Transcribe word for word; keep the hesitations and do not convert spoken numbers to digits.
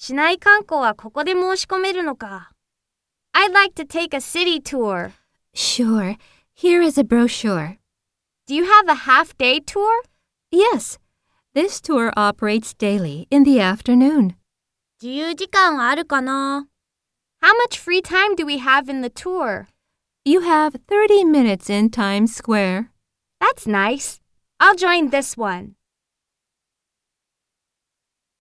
市内観光はここで申し込めるのか。I'd like to take a city tour. Sure. Here is a brochure. Do you have a half-day tour? Yes. This tour operates daily in the afternoon. 自由時間あるかな? How much free time do we have in the tour? You have thirty minutes in Times Square. That's nice. I'll join this one.